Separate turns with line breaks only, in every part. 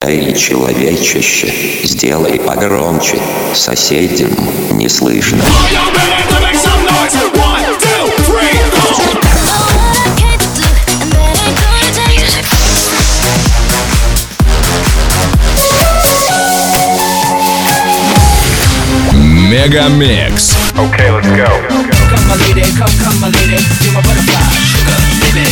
Эй, человечище, сделай погромче, соседям не слышно.
Мегамикс.
Okay, let's go.
Come my lady, come my lady, you're my butterfly, sugar, baby.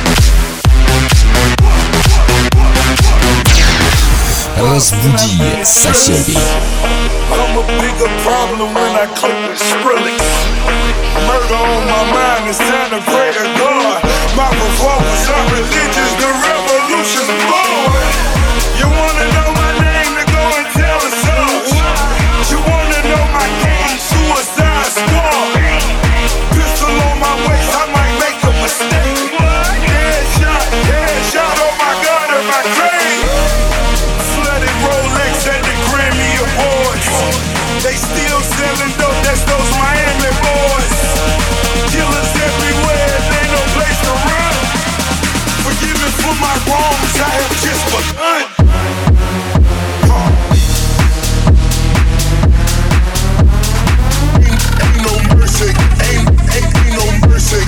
Разбуди соседей.
I'm a bigger problem when I click with Skrillex. Murder on my mind, it's time to pray to God. My performance are religious, the revolution's born. You wanna know my name, then go and tell the source. You wanna know my game, suicide squad. Pistol on my waist, I might make a mistake. Headshot on my gun and my grave. Flooded Rolex at the Grammy Awards. They still selling dope, that's those Miami boys. Killers everywhere, there ain't no place to run. Forgive me for my wrongs, I have just begun. Ain't no mercy, ain't no mercy.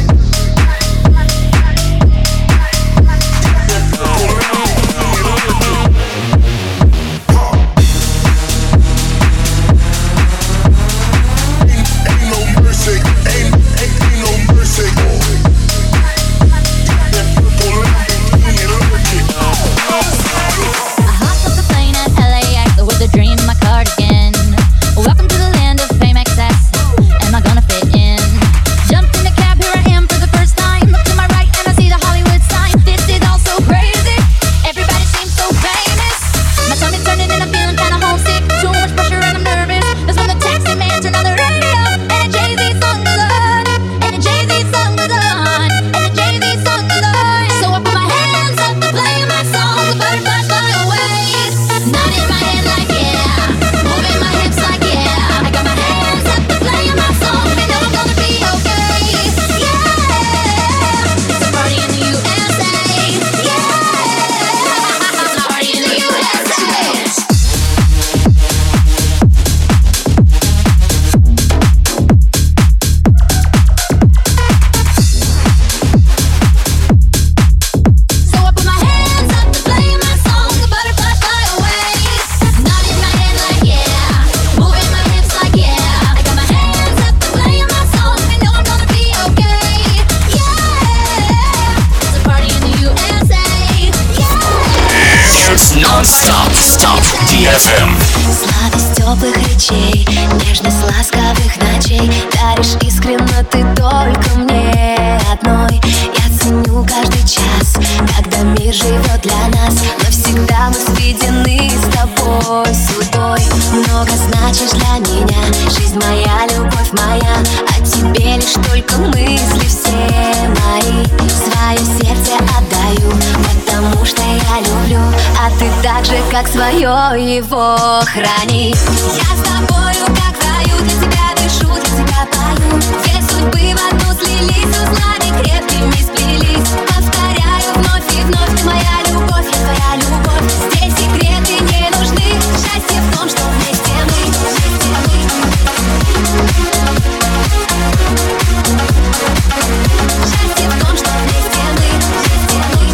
Сладость теплых речей, нежность ласковых ночей. Даришь искренно ты только мне одной. Я ценю каждый час, когда мир живет для нас. Навсегда мы сведены с тобой судьбой. Много значишь для меня, жизнь моя, любовь моя. О тебе лишь только мысли все мои. Свое сердце отдаю, потому что я люблю. А ты так же, как свое его храни. Я с тобою, как в раю, для тебя дышу, для тебя пою. Две судьбы в одну слились, узлами крепкими сплелись. Повторяю вновь и вновь, ты моя любовь, я твоя любовь. Здесь секреты не нужны, счастье в том, что вместе мы, вместе мы. Счастье в том, что вместе мы, вместе мы.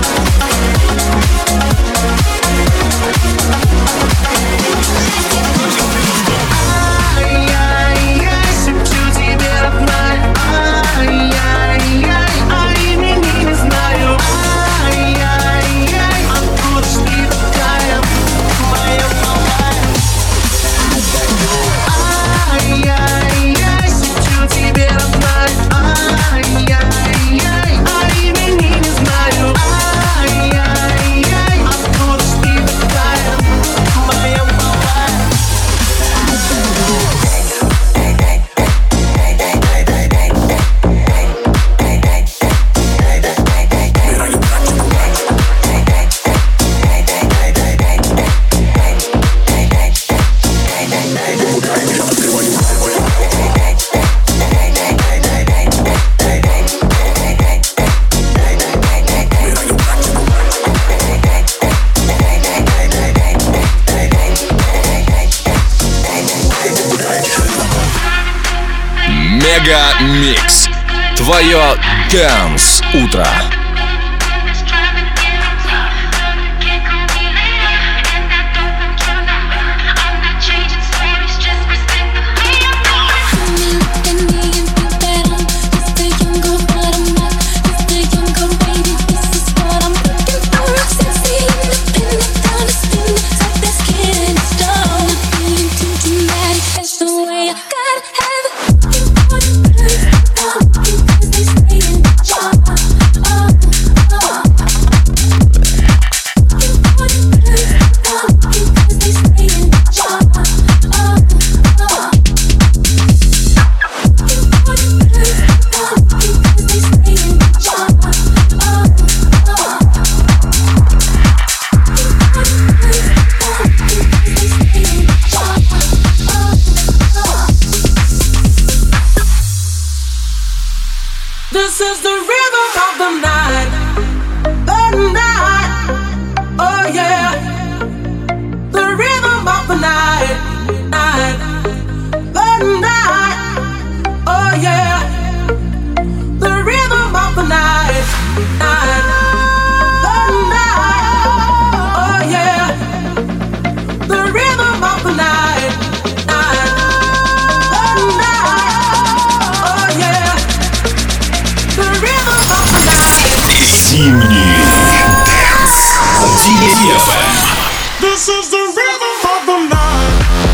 Счастье в том, что вместе
Ай-яй-яй, шепчу тебе обман. Ай-яй-яй, а имени не знаю. Ай-яй-яй, откуда ж ты такая?
Мега Микс. Твое Dance утро.
This is the rhythm of the night, oh yeah. The rhythm of the night, oh yeah. The rhythm of the night, oh yeah. The rhythm of the night, oh yeah.
Зимний Dance.
This is the rhythm of the night.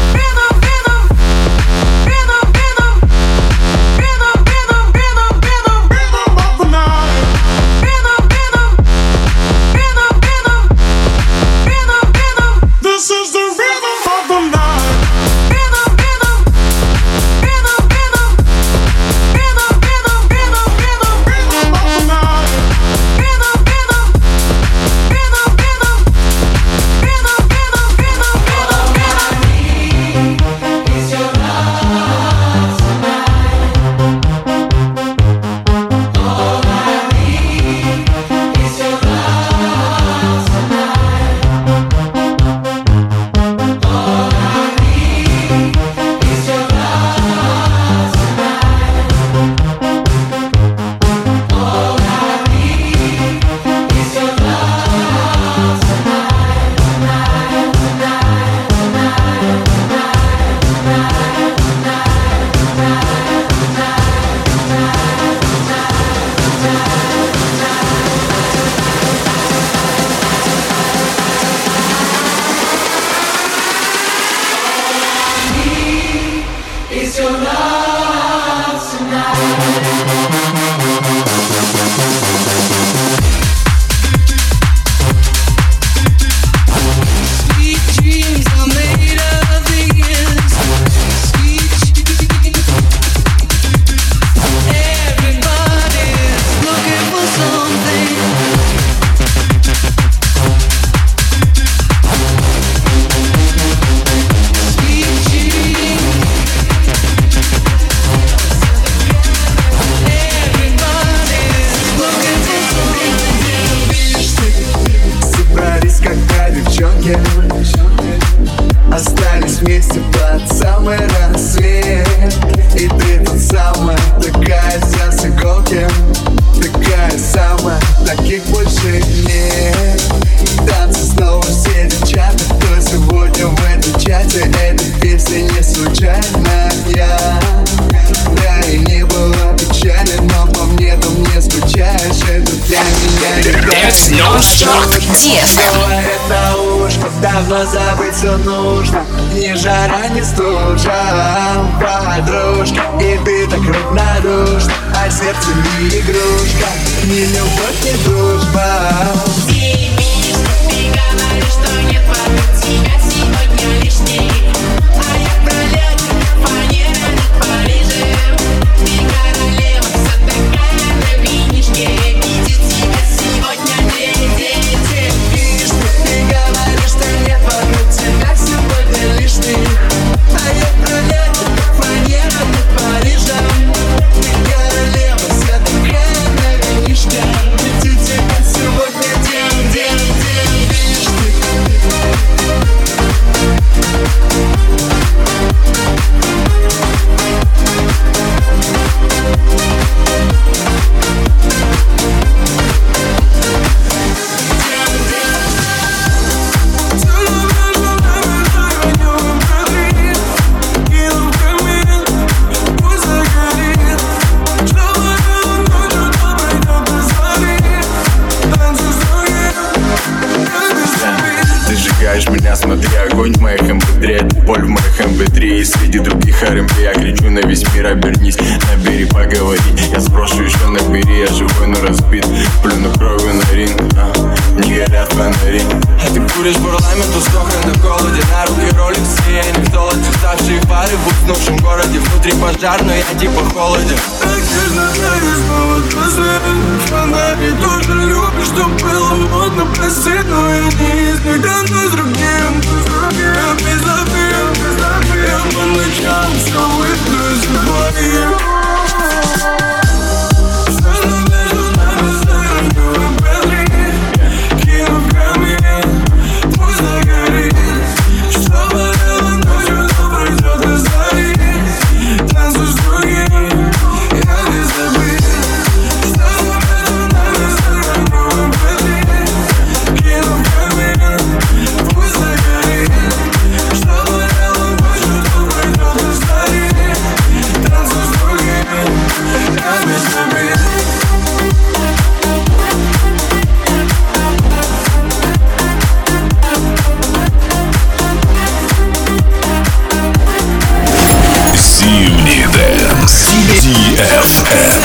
Остались вместе под самый рассвет. И ты тот самая, такая вся с иголки, такая самая, таких больше нет. Танцы снова все девчата, кто сегодня в этом чате. Эта песня не случайная. Да и не было печали, но по мне там не скучаешь. Это для меня это ушко, давно забыться нужно. Ни жара, ни стужа, подружка. И ты так равнодушна, а сердце не игрушка. Ни любовь, ни дружба.
Ты говоришь, что нет вокруг тебя сегодня лишней. А я пролету фанера над Парижем. Ты королева, вся такая на винишке. Видит тебя сегодня день.
Ты говоришь, что нет вокруг тебя сегодня лишней. А я пролету фанера над Парижем. Ты королева, вся такая на винишке. Видит тебя сегодня день.
зажигаешь меня, смотри, огонь в моих mp3. Это боль в моих mp3. И среди других R&B я кричу на весь мир: обернись, набери, поговори. Я спрошу еще набери, я живой, но разбит. Плюну кровью на ринг, не горят фонари. А ты куришь парламент, устохрен на голоде. На руки роликсы, я не в золоте. Ставшие пары в уснувшем городе. Внутри пожар, но я типа холоден.
Так нежно даришь повод последний фонарь. И тоже любишь, что было модно, прости, но я не из них. Да ну с другим, я безобиден. Я по ночам все выпью из двоих. Все, что между нами, заранее без кину в камень, пусть загорит. Что болело ночью, то пройдет до зари. Танцуй с другим, я безобиден. Все, что между нами, заранее без кину в камень, пусть загорит. Что болело ночью, то пройдет до зари. Танцуй с другим, я безобиден.
Зимний дэнс. DFM.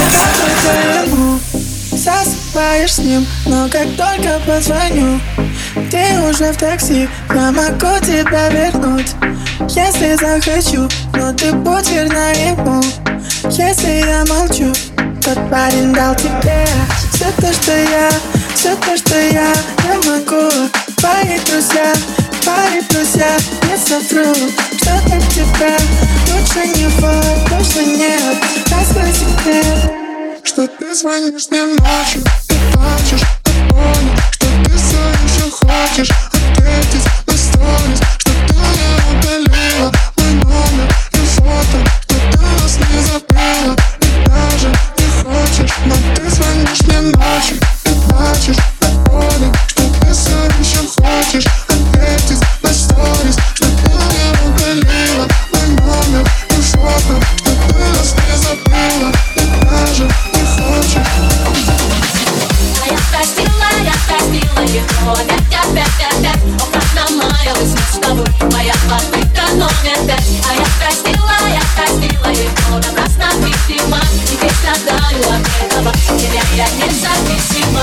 Засыпаешь с ним, но как только позвоню, ты уже в такси, я могу тебя вернуть, если захочу, но ты будь верна ему. Если я молчу, тот парень дал тебе все то, что я могу. Твои друзья, не совру, что для тебя лучше него, точно нет. Раскрой секрет, что ты звонишь мне ночью и плачешь от боли, что ты все еще хочешь ответить на сторис, что ты не удалила мой номер и фото, что ты нас не забыла и даже не хочешь. Но ты звонишь мне ночью и плачешь от боли, что ты все еще хочешь ответить на сторис, что ты не удалила мой номер и фото, что ты нас не забыла и даже не хочешь.
А я простила его опять. О, как намаялась мы с тобой, моя попытка номер 5. А я простила его напрасно, видимо. Теперь страдаю от этого, теряя независимо.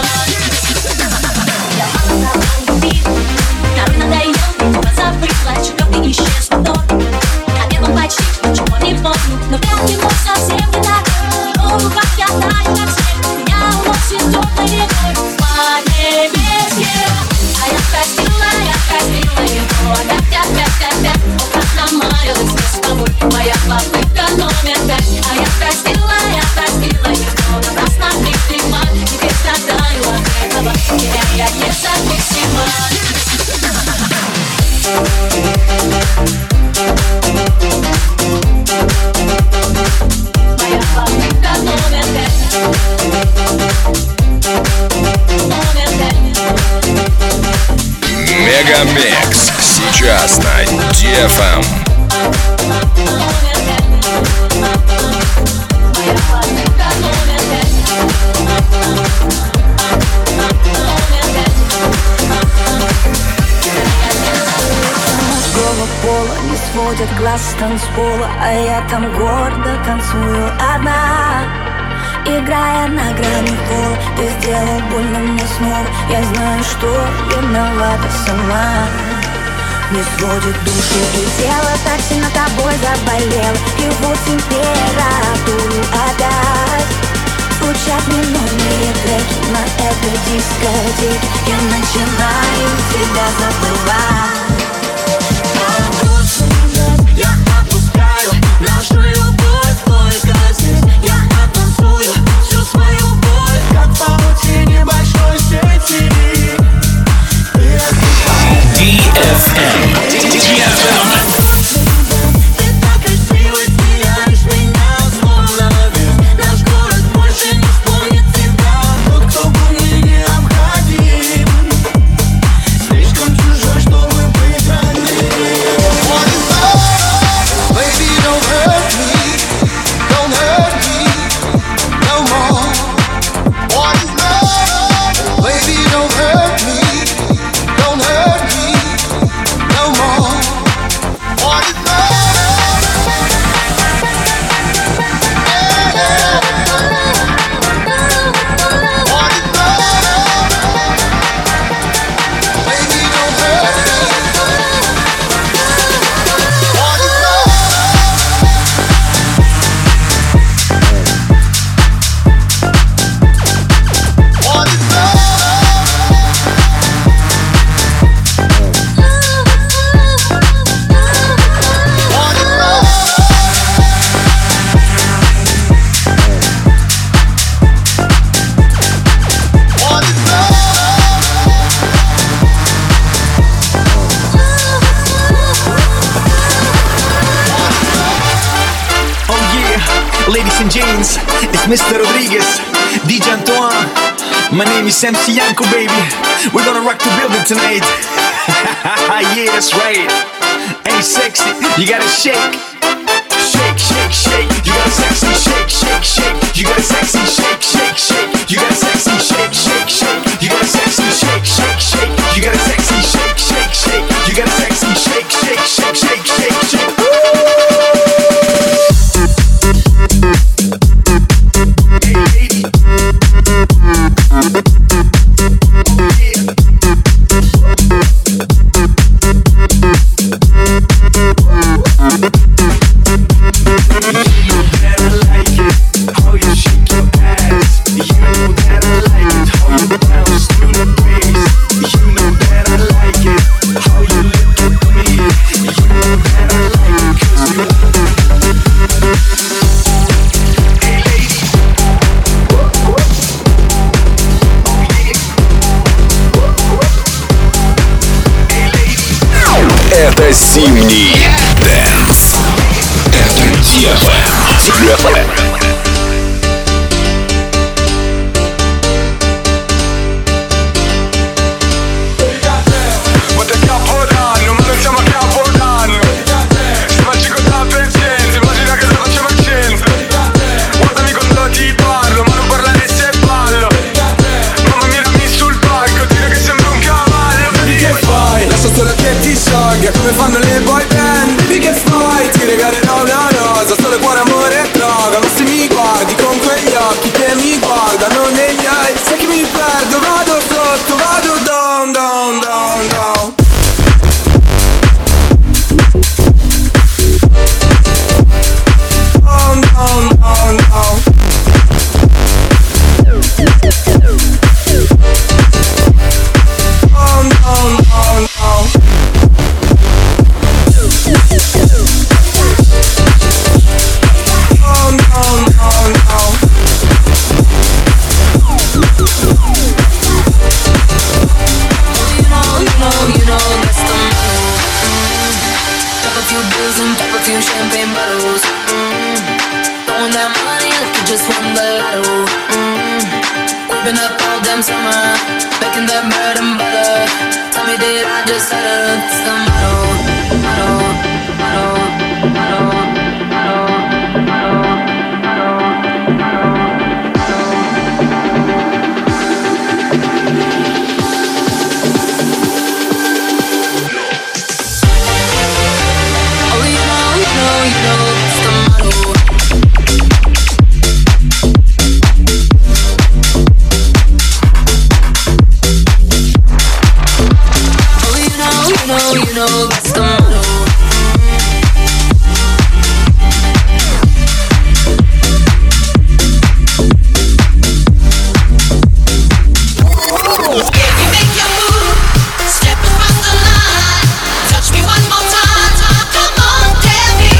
Я мало любила, нам надоел, позабыла, чего ты исчез в доме. Обедом почти ничего не помню, но вряд ли мог совсем не так. В его руках я таю, как снег, меня уносит темной рекой по небеске. А я простила его опять. О, как намаялась мы с тобой, моя попытка номер 5. А я простила его напрасно, видимо. Теперь страдаю от этого, теряя независимо. Моя попытка номер 5.
Мегамикс сейчас на DFM.
Мужского пола не сводят глаз с танцпола, а я там гордо танцую одна. Играя на грани пола, ты сделал больно мне снова. Я знаю, что виновата сама. Не сводит душу и тело, так сильно тобой заболело. И вот температуру опять. Звучат минутные треки на этой дискотеке. Я начинаю тебя забывать. Я отпускаю нашу любовь, только здесь я оттанцую всю свою боль, как в паутине большой сети.
DFM.
Ты так красиво сияешь меня, словно весь наш город больше не вспомнит тебя. Тот, кто был мне необходим, слишком чужой, чтобы быть родным.
Baby, don't hurt me no more. What is love? Baby, don't hurt me
Levi's and jeans. It's Mr. Rodriguez, DJ Antoine. My name is MC Yanko, baby. We're gonna rock the building tonight. Yeah, that's right. Hey, sexy, you gotta shake. Shake, shake, shake. You gotta sexy shake, shake, shake. You gotta sexy shake, shake, shake. You gotta sexy shake, shake, shake. You gotta sexy shake, shake, shake. You gotta sexy shake, shake, shake. You gotta sexy shake, shake, shake, shake, shake, shake.
Это зимний дэнс. Это DFM.
Come fanno le boy band, baby che fai? Ti regalerò una rosa, solo cuore, amore e droga. Ma se mi guardi con quegli occhi che mi guardano negli eye, sai che mi perdo, vado sotto, vado down, down, down, down. Down, down, down, down. Down, down, down, down.
Champagne bottles, throwing that money like you just won the lotto. We've been up all damn summer, making that bread and butter. Tell me, did I just settle? It's the motto, motto, motto, motto. You know that's the motto. If you make your move, step across the line, touch me one more time, come on, tell me.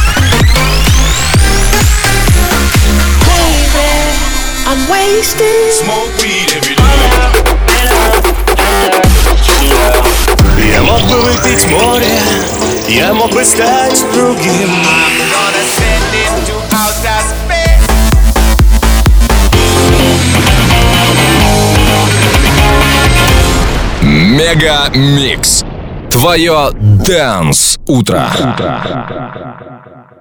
Baby, I'm wasted.
Smoke weed every day.
Я мог бы выпить море, я мог бы стать другим.
Мега Микс. Твое Dance утро.